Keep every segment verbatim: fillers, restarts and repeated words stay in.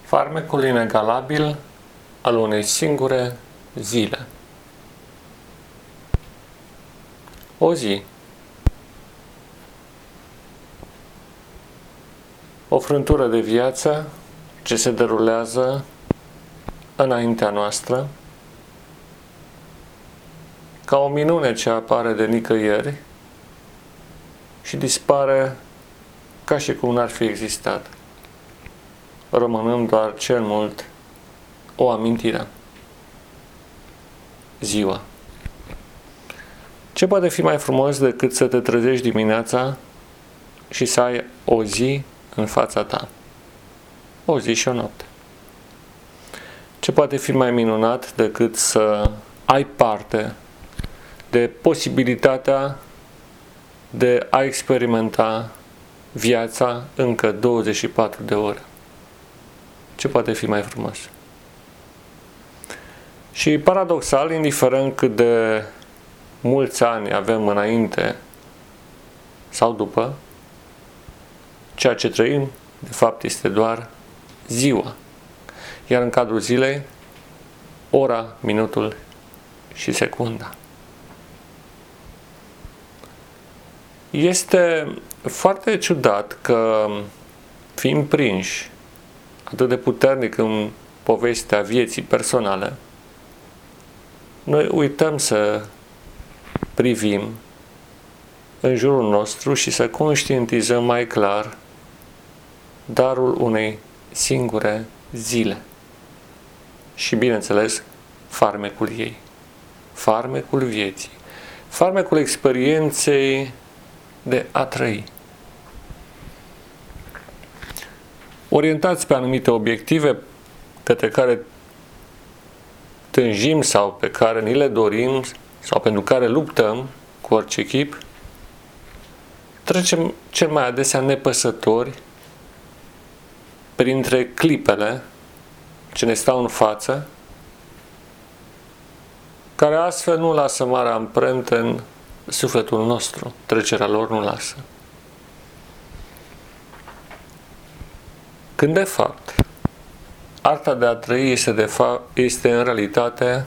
Farmecul inegalabil al unei singure zile. O zi. O frântură de viață ce se derulează înaintea noastră, ca o minune ce apare de nicăieri și dispare ca și cum n-ar fi existat, rămânând doar cel mult o amintire. Ziua. Ce poate fi mai frumos decât să te trezești dimineața și să ai o zi în fața ta? O zi și o noapte. Ce poate fi mai minunat decât să ai parte de posibilitatea de a experimenta viața încă douăzeci și patru de ore? Ce poate fi mai frumos? Și paradoxal, indiferent cât de mulți ani avem înainte sau după, ceea ce trăim, de fapt, este doar ziua. Iar în cadrul zilei, ora, minutul și secunda. Este foarte ciudat că, fiind prinși atât de puternic în povestea vieții personale, noi uităm să privim în jurul nostru și să conștientizăm mai clar darul unei singure zile. Și, bineînțeles, farmecul ei. Farmecul vieții. Farmecul experienței de a trăi. Orientați pe anumite obiective către care tânjim sau pe care ni le dorim sau pentru care luptăm cu orice chip, trecem cel mai adesea nepăsători printre clipele ce ne stau în față, care astfel nu lasă mare amprentă în sufletul nostru. Trecerea lor nu lasă. Când de fapt arta de a trăi este, de fapt, este în realitate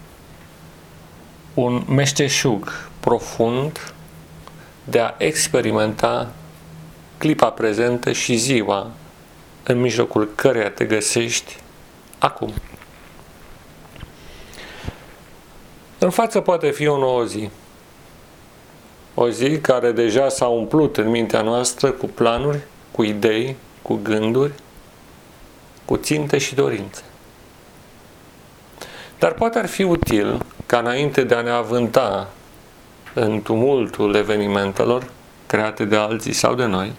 un meșteșug profund de a experimenta clipa prezentă și ziua în mijlocul căreia te găsești acum. În față poate fi o nouă zi. O zi care deja s-a umplut în mintea noastră cu planuri, cu idei, cu gânduri, cu ținte și dorințe. Dar poate ar fi util ca înainte de a ne avânta în tumultul evenimentelor create de alții sau de noi,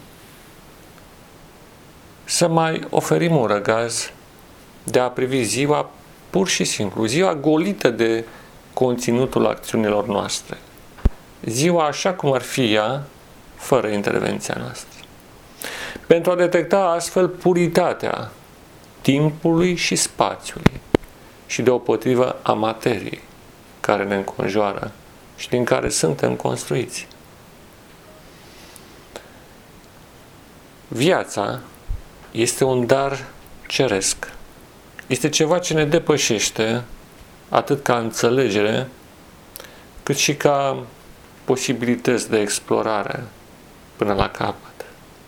să mai oferim un răgaz de a privi ziua pur și simplu, ziua golită de conținutul acțiunilor noastre, ziua așa cum ar fi ea, fără intervenția noastră, pentru a detecta astfel puritatea timpului și spațiului și deopotrivă a materiei care ne înconjoară și din care suntem construiți. Viața este un dar ceresc. Este ceva ce ne depășește atât ca înțelegere, cât și ca posibilități de explorare până la capăt.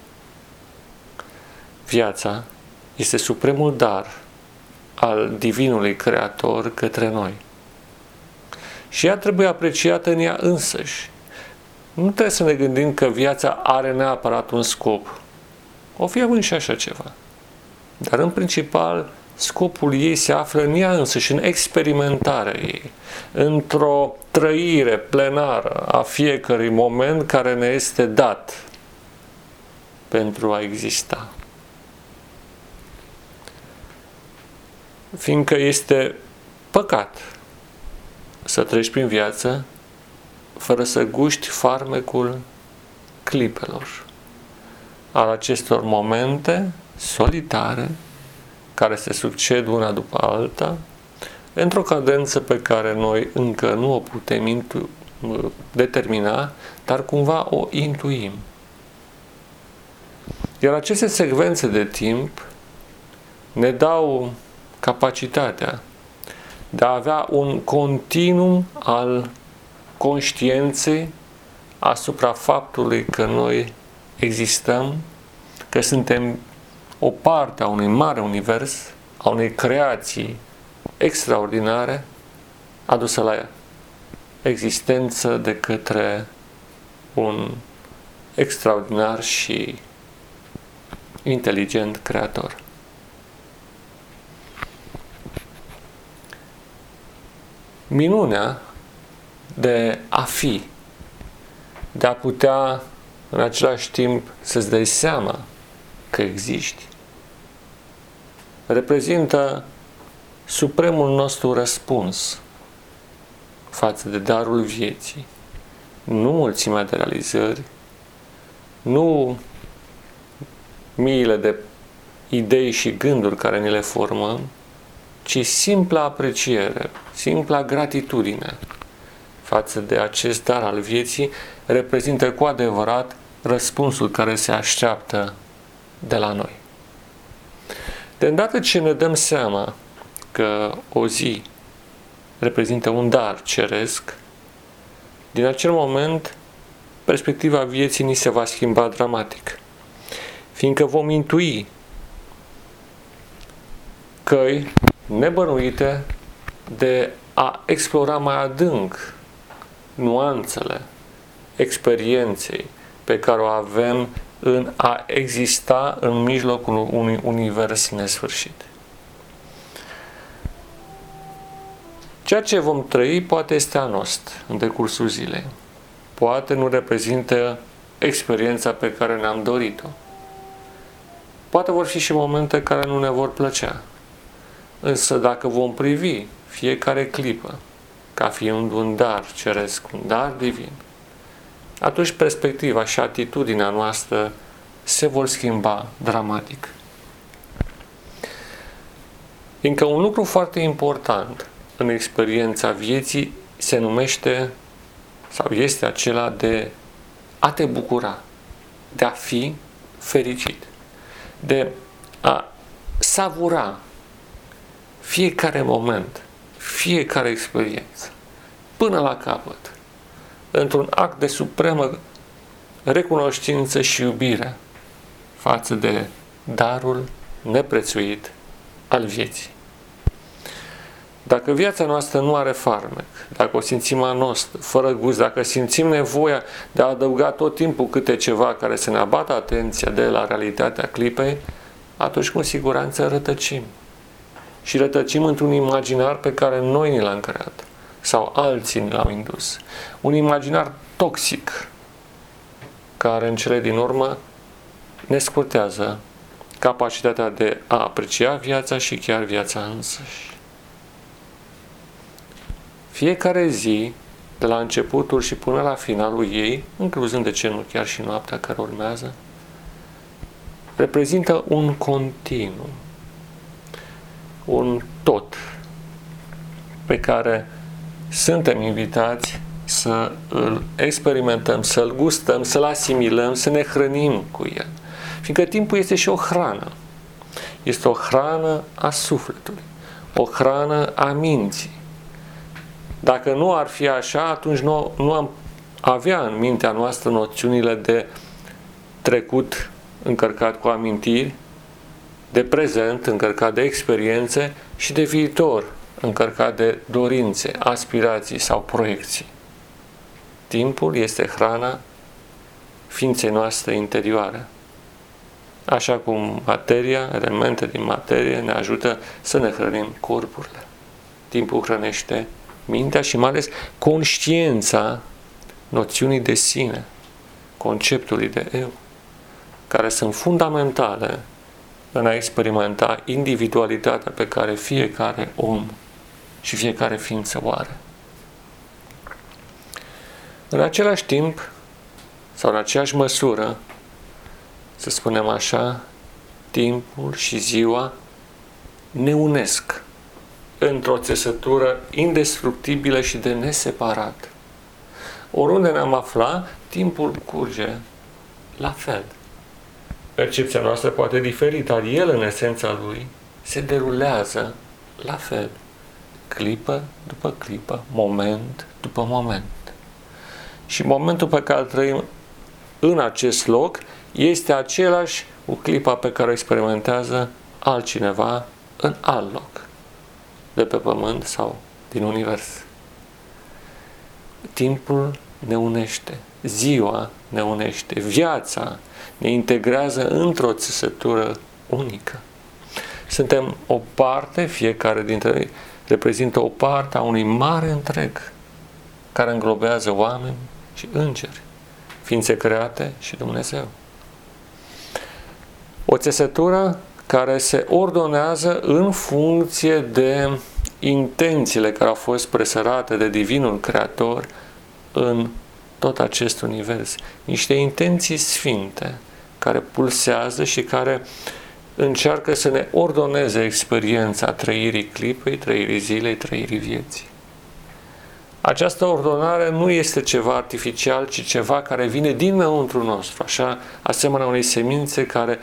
Viața este supremul dar al Divinului Creator către noi. Și ea trebuie apreciată în ea însăși. Nu trebuie să ne gândim că viața are neapărat un scop. O fi având și așa ceva. Dar în principal, scopul ei se află în ea însăși, în experimentarea ei, într-o trăire plenară a fiecărui moment care ne este dat pentru a exista. Fiindcă este păcat să treci prin viață fără să guști farmecul clipelor, al acestor momente solitare care se succed una după alta într-o cadență pe care noi încă nu o putem intu- determina, dar cumva o intuim. Iar aceste secvențe de timp ne dau capacitatea de a avea un continuum al conștiinței asupra faptului că noi existăm, că suntem o parte a unui mare univers, a unei creații extraordinare adusă la existență de către un extraordinar și inteligent creator. Minunea de a fi, de a putea în același timp să-ți dai seama că existi, reprezintă supremul nostru răspuns față de darul vieții, nu mulțimea de realizări, nu miile de idei și gânduri care ni le formăm, ci simpla apreciere, simpla gratitudine față de acest dar al vieții reprezintă cu adevărat răspunsul care se așteaptă de la noi. De îndată ce ne dăm seama că o zi reprezintă un dar ceresc, din acel moment perspectiva vieții ni se va schimba dramatic, fiindcă vom intui căi nebănuite de a explora mai adânc nuanțele experienței pe care o avem în a exista în mijlocul unui univers nesfârșit. Ceea ce vom trăi poate este anost în decursul zilei. Poate nu reprezintă experiența pe care ne-am dorit-o. Poate vor fi și momente care nu ne vor plăcea. Însă dacă vom privi fiecare clipă ca fiind un dar ceresc, un dar divin, atunci perspectiva și atitudinea noastră se vor schimba dramatic. Fiindcă un lucru foarte important în experiența vieții se numește sau este acela de a te bucura, de a fi fericit, de a savura fiecare moment, fiecare experiență, până la capăt, într-un act de supremă recunoștință și iubire față de darul neprețuit al vieții. Dacă viața noastră nu are farmec, dacă o simțim anost, fără gust, dacă simțim nevoia de a adăuga tot timpul câte ceva care să ne abată atenția de la realitatea clipei, atunci cu siguranță rătăcim. Și rătăcim într-un imaginar pe care noi ni l-am creat sau alții ni l-au indus. Un imaginar toxic care în cele din urmă ne scurtează capacitatea de a aprecia viața și chiar viața însăși. Fiecare zi, de la începutul și până la finalul ei, incluzând de ce nu chiar și noaptea care urmează, reprezintă un continuu, un tot pe care suntem invitați să îl experimentăm, să-l gustăm, să-l asimilăm, să ne hrănim cu el. Fiindcă timpul este și o hrană. Este o hrană a sufletului, o hrană a minții. Dacă nu ar fi așa, atunci nu, nu am avea în mintea noastră noțiunile de trecut încărcat cu amintiri, de prezent încărcat de experiențe și de viitor încărcat de dorințe, aspirații sau proiecții. Timpul este hrana ființei noastre interioare. Așa cum materia, elemente din materie ne ajută să ne hrănim corpurile. Timpul hrănește mintea și mai ales conștiința noțiunii de sine, conceptului de eu, care sunt fundamentale în a experimenta individualitatea pe care fiecare om și fiecare ființă o are. În același timp, sau în aceeași măsură, să spunem așa, timpul și ziua ne unesc într-o țesătură indestructibilă și de neseparat. Oriunde ne-am afla, timpul curge la fel. Percepția noastră poate diferi, dar el, în esența lui, se derulează la fel, clipă după clipă, moment după moment. Și momentul pe care îl trăim în acest loc este același cu clipa pe care o experimentează altcineva în alt loc, de pe pământ sau din univers. Timpul ne unește, ziua ne unește, viața ne integrează într-o țesătură unică. Suntem o parte, fiecare dintre noi reprezintă o parte a unui mare întreg care înglobează oameni și îngeri, ființe create și Dumnezeu. O țesătură care se ordonează în funcție de intențiile care au fost presărate de Divinul Creator în tot acest univers. Niște intenții sfinte care pulsează și care încearcă să ne ordoneze experiența trăirii clipei, trăirii zilei, trăirii vieții. Această ordonare nu este ceva artificial, ci ceva care vine dinăuntru nostru, așa, asemenea unei semințe care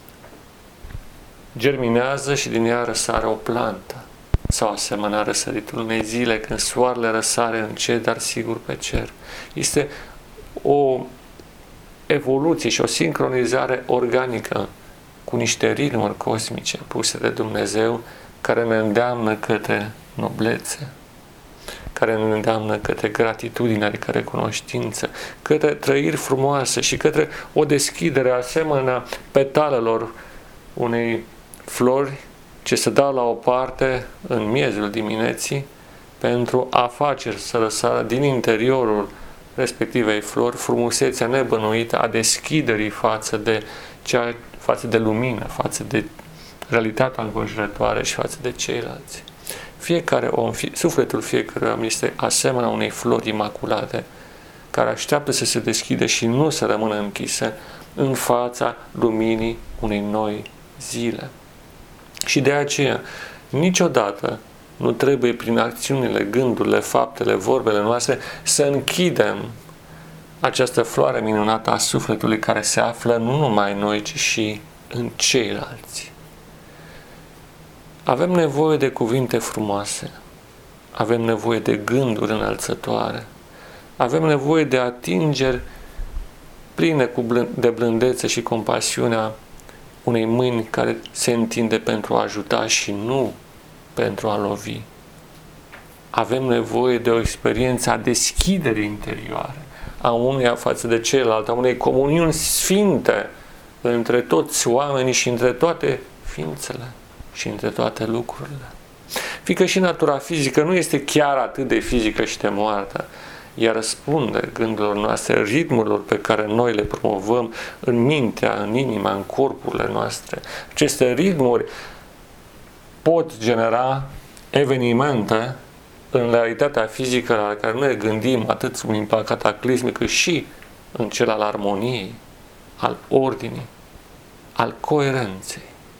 germinează și din ea răsare o plantă, sau asemenea răsăritul unei zile când soarele răsare în cer, dar sigur pe cer. Este o evoluție și o sincronizare organică cu niște ritmuri cosmice puse de Dumnezeu care ne îndeamnă către noblețe, care ne îndeamnă către gratitudine, adică recunoștință, către trăiri frumoase și către o deschidere asemenea petalelor unei flori ce se dau la o parte în miezul dimineții pentru a face să răsară din interiorul respectivei flori frumusețea nebănuită a deschiderii față de, cea, față de lumină, față de realitatea înconjurătoare și față de ceilalți. Fiecare om, sufletul fiecărui om este asemenea unei flori imaculate care așteaptă să se deschidă și nu să rămână închisă în fața luminii unei noi zile. Și de aceea, niciodată nu trebuie prin acțiunile, gândurile, faptele, vorbele noastre să închidem această floare minunată a sufletului care se află nu numai în noi, ci și în ceilalți. Avem nevoie de cuvinte frumoase, avem nevoie de gânduri înălțătoare, avem nevoie de atingeri pline de blândețe și compasiunea unei mâini care se întinde pentru a ajuta și nu pentru a lovi. Avem nevoie de o experiență a deschiderii interioare, a uneia față de celălalt, a unei comuniuni sfinte între toți oamenii și între toate ființele și între toate lucrurile. Fiindcă și natura fizică nu este chiar atât de fizică și de moartă, ea răspunde gândurilor noastre, ritmurilor pe care noi le promovăm în mintea, în inima, în corpurile noastre. Aceste ritmuri pot genera evenimente în realitatea fizică la care noi ne gândim atât sub impact cataclismic cât și în cel al armoniei, al ordinii, al coerenței.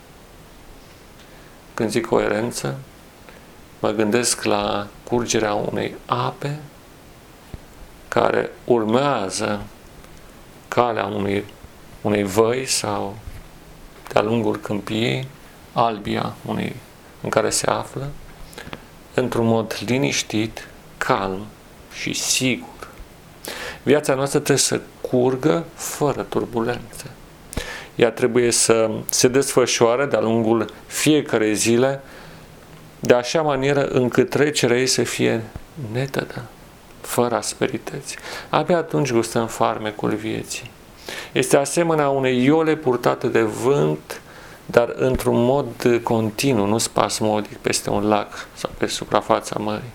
Când zic coerență, mă gândesc la curgerea unei ape care urmează calea unei, unei văi sau de-a lungul câmpiei, albia unei în care se află, într-un mod liniștit, calm și sigur. Viața noastră trebuie să curgă fără turbulențe. Ea trebuie să se desfășoare de-a lungul fiecarei zile de așa manieră încât trecerea ei să fie netedă, fără asperități. Abia atunci gustăm farmecul vieții. Este asemenea unei iole purtate de vânt, dar într-un mod continuu, nu spasmodic, peste un lac sau pe suprafața mării.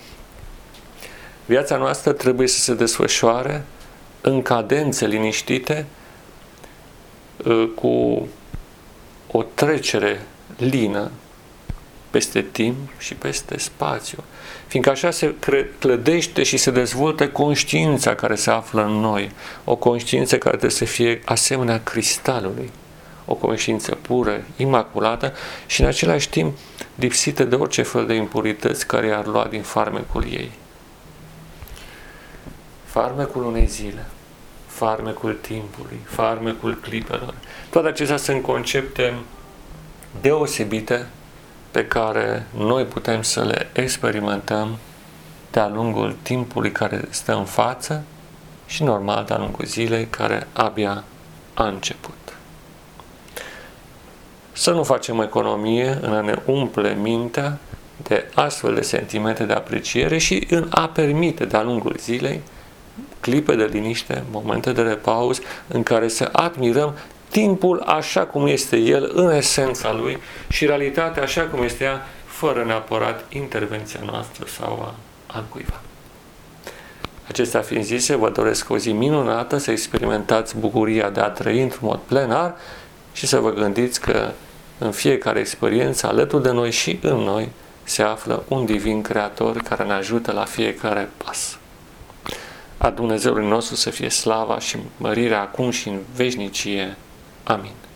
Viața noastră trebuie să se desfășoare în cadențe liniștite, cu o trecere lină peste timp și peste spațiu. Fiindcă așa se clădește și se dezvoltă conștiința care se află în noi. O conștiință care trebuie să fie asemenea cristalului. O conștiință pură, imaculată și în același timp lipsită de orice fel de impurități care i-ar lua din farmecul ei. Farmecul unei zile, farmecul timpului, farmecul clipelor. Toate acestea sunt concepte deosebite pe care noi putem să le experimentăm de-a lungul timpului care stă în față și normal de-a lungul zilei care abia a început. Să nu facem economie în a ne umple mintea de astfel de sentimente de apreciere și în a permite de-a lungul zilei clipe de liniște, momente de repaus în care să admirăm timpul așa cum este el în esența lui și realitatea așa cum este ea, fără neapărat intervenția noastră sau a altcuiva. Acestea fiind zise, vă doresc o zi minunată, să experimentați bucuria de a trăi într-un mod plenar și să vă gândiți că în fiecare experiență, alături de noi și în noi, se află un divin creator care ne ajută la fiecare pas. A Dumnezeului nostru să fie slava și mărirea acum și în veșnicie. Amin.